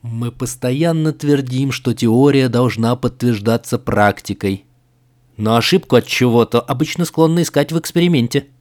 Мы постоянно твердим, что теория должна подтверждаться практикой. Но ошибку от чего-то обычно склонны искать в эксперименте.